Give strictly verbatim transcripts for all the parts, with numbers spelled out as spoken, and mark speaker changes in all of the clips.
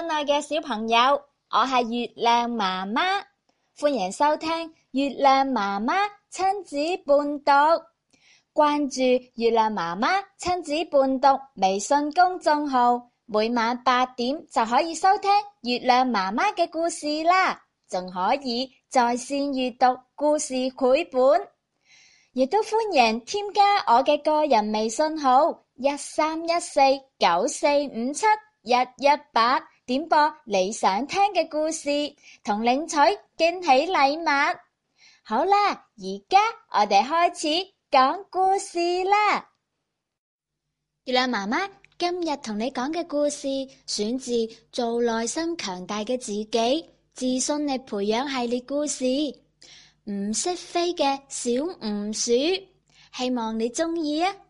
Speaker 1: 親愛嘅小朋友，我係月亮媽媽，歡迎收聽月亮媽媽親子伴讀。關注月亮媽媽親子伴讀微信公眾號，每晚八點就可以收聽月亮媽媽嘅故事啦，仲可以在線閱讀故事繪本，亦都歡迎添加我嘅個人微信號一三一四九四五七一一八，點播你想聽嘅故事，同領取驚喜禮物。好啦，而家我哋開始講故事啦。月亮媽媽今日同你講嘅故事選自《做內心強大嘅自己，自信力培養系列故事》，唔識飛嘅小鼯鼠，希望你鍾意啊！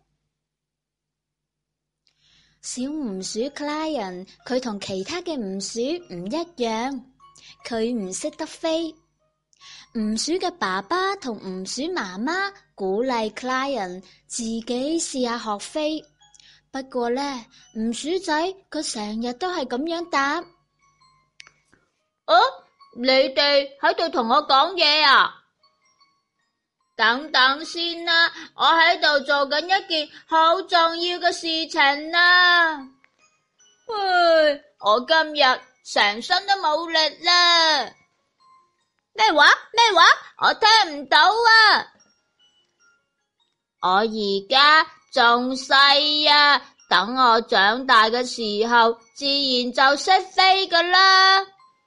Speaker 1: 小鼯鼠 Client 佢同其他嘅鼯鼠唔一樣，佢唔識得飛。鼯鼠嘅爸爸同鼯鼠媽媽鼓勵 Client 自己試下學飛，不過呢，鼯鼠仔佢成日都係咁樣答：哦，你哋喺度同我講嘢啊？等等先啦，我喺度做緊一件好重要嘅事情啦。唉，我今日成身都冇力啦。咩話？咩話？我聽唔到啊！我而家仲細啊，等我長大嘅時候，自然就識飛㗎啦。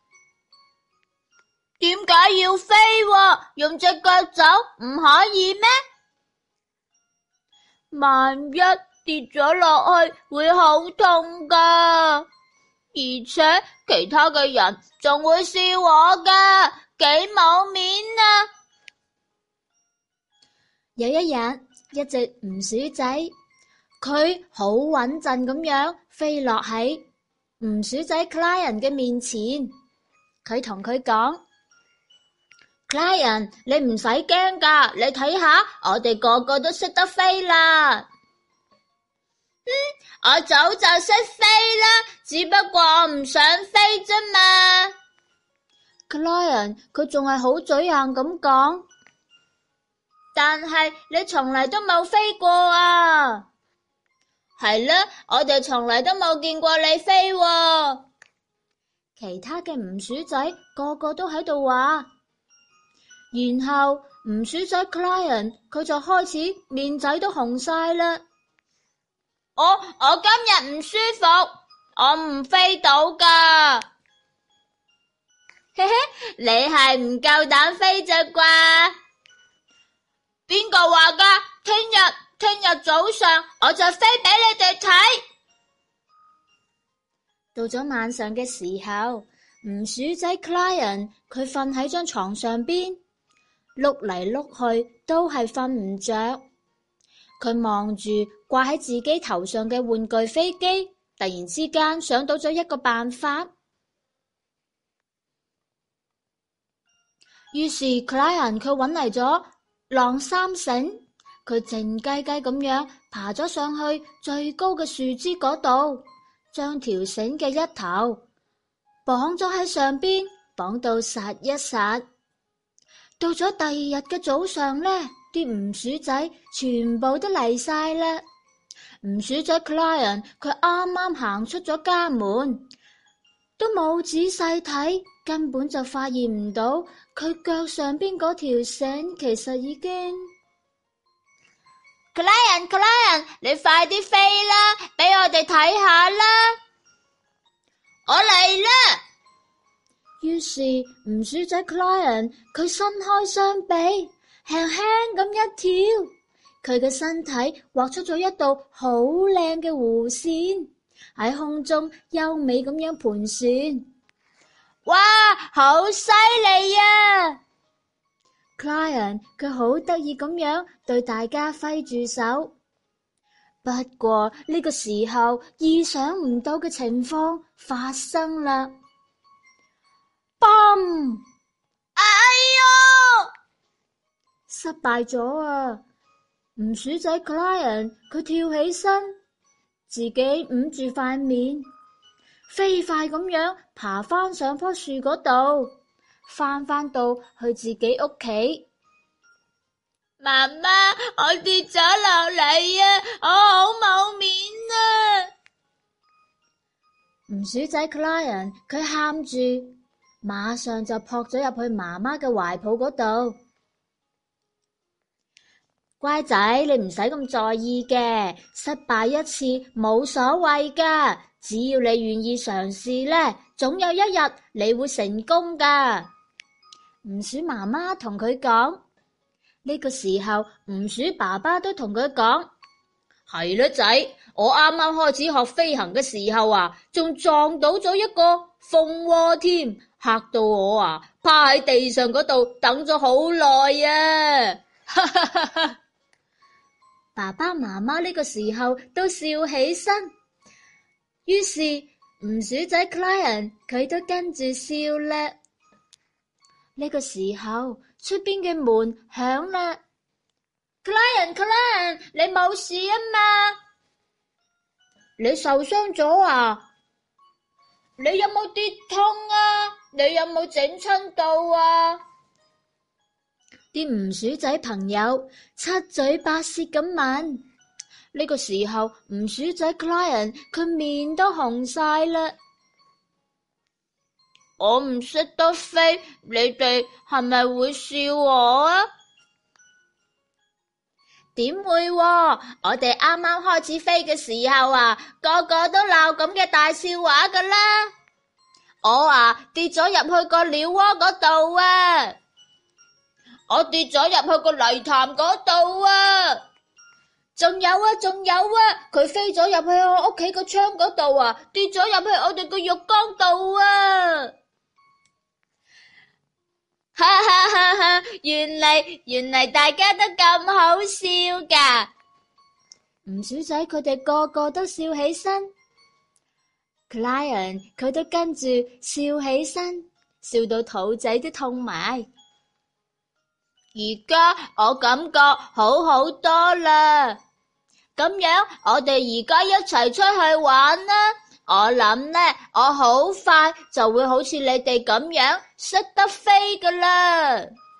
Speaker 1: 點解要飛喎？用隻腳走唔可以咩？萬一跌咗落去會好痛㗎，而且其他嘅人仲會笑我㗎，幾冇面啊！有一日，一隻鼯鼠仔，佢好穩陣咁樣飛落喺鼯鼠仔 Client 嘅面前，佢同佢講：Client， 你唔使驚噶，你睇下，我哋個個都識得飛啦。嗯，我早就識飛啦，只不過我唔想飛啫嘛。Client 佢仲係好嘴硬咁講，但係你從嚟都冇飛過啊。係啦，我哋從嚟都冇見過你飛喎。其他嘅鼯鼠仔個個都喺度話。然後鼯鼠仔 Client 佢就開始面仔都紅晒啦。我我今日唔舒服，我唔飛到噶。嘿嘿，你係唔夠膽飛啫啩？邊個話噶？聽日聽日早上我就飛俾你哋睇。到咗晚上嘅時候，鼯鼠仔 Client 佢瞓喺張床上邊。碌嚟碌去都係瞓唔着，佢望住掛喺自己頭上嘅玩具飛機，突然之間想到咗一個辦法。於是 Client 佢搵嚟咗晾衫繩，佢靜雞雞咁樣爬咗上去最高嘅樹枝嗰度，將條繩嘅一頭綁咗喺上邊，綁到實一實。到咗第二日嘅早上呢，啲鼯鼠仔全部都嚟晒啦。鼯鼠仔 Client 佢啱啱行出咗家門，都冇仔細睇，根本就發現唔到佢腳上邊嗰條繩其實已經。Client Client， 你快啲飛啦，俾我哋睇下啦！我嚟啦！於是鼯鼠仔 Client 佢伸開雙臂，輕輕咁一跳，佢嘅身體畫出咗一道好靚嘅弧線，喺空中優美咁樣盤旋。哇，好犀利啊！ Client 佢好得意咁樣對大家揮住手。不過呢個時候，意想唔到嘅情況發生啦。砰！哎喲！失敗咗啊！鼯鼠仔 Client 佢跳起身，自己捂住塊面， 飛快咁樣爬返上棵樹嗰度，返返到去自己屋企。
Speaker 2: 媽媽，我跌咗落嚟啊！我好冇面啊！
Speaker 1: 鼯鼠仔 Client 佢喊住，馬上就撲咗入去媽媽嘅懷抱嗰度。乖仔，你唔使咁在意嘅，失敗一次冇所謂噶，只要你願意嘗試呢，總有一日你會成功噶。鼯鼠媽媽同佢講。呢個時候，鼯鼠爸爸都同佢講：係啦，仔，我啱啱開始學飛行嘅時候啊，仲撞到咗一個蜂窩添，嚇到我啊，趴喺地上嗰度等咗好耐啊！哈哈哈哈！爸爸媽媽呢個時候都笑起身，於是鼯鼠仔 Client 佢都跟住笑啦。呢個時候，出邊嘅門響啦。Client Client，你冇事啊嘛？你受傷咗啊？你有冇跌痛啊？你有冇整親到啊？啲鼯鼠仔朋友七嘴八舌咁問。呢個時候，鼯鼠仔 Client 佢面都紅晒啦。我唔識得飛，你哋係咪會笑我啊？點會喎？我哋啱啱開始飛嘅時候啊，個個都鬧咁嘅大笑話噶啦。我啊跌咗入去個鳥窩嗰度啊，我跌咗入去個泥潭嗰度啊，仲有啊仲有啊，佢飛咗入去我屋企個窗嗰度啊，跌咗入去我哋個浴缸度啊。哈哈哈哈！原嚟原嚟大家都咁好笑噶。鼯鼠仔佢哋個個都笑起身 ，Client 佢都跟住笑起身，笑到肚仔都痛埋。而家我感覺好好多啦，咁樣我哋而家一齊出去玩啦。我諗呢，我好快就會好似你哋咁樣識得飛噶啦。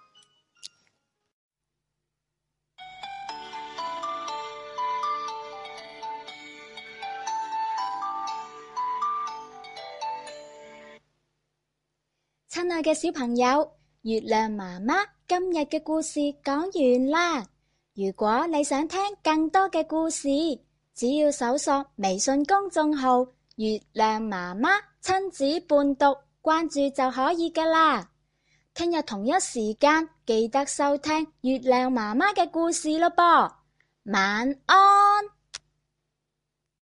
Speaker 1: 親愛嘅小朋友，月亮媽媽今日嘅故事講完啦。如果你想聽更多嘅故事，只要搜索微信公眾號月亮媽媽親子伴讀，關注就可以噶啦。聽日同一時間記得收聽月亮媽媽嘅故事咯噃。晚安。